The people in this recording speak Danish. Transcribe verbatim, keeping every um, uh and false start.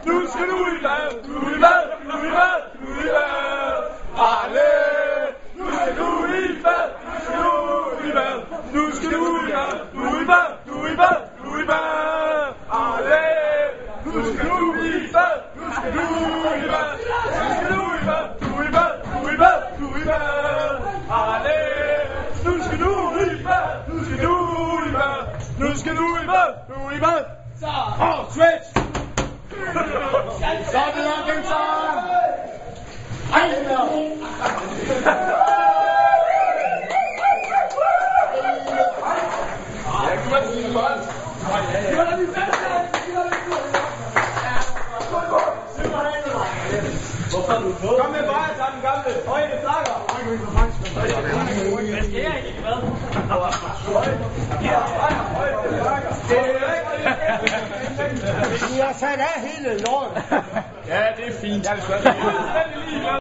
nu skal du i bad, du i bad, du i bad, du i bad. Arle, nu skal du i bad, nu skal du i bad, nu skal du i bad, du i bad, du i bad, du i bad. Arle, nu skal du i bad, nu skal du i bad, nu skal du i bad, du i bad, du i bad, du i bad. Arle, nu skal du i bad, nu skal du i bad, nu skal du i bad, du i bad. Så. Åh, switch! Så er det nok den så. Ej, Ja, kom med til bold. Kom med bare sammen, gamle. Højde flakker. hvad skal jeg egentlig med? Jeg har sat af hele lorten. Ja, det er fint. Jeg er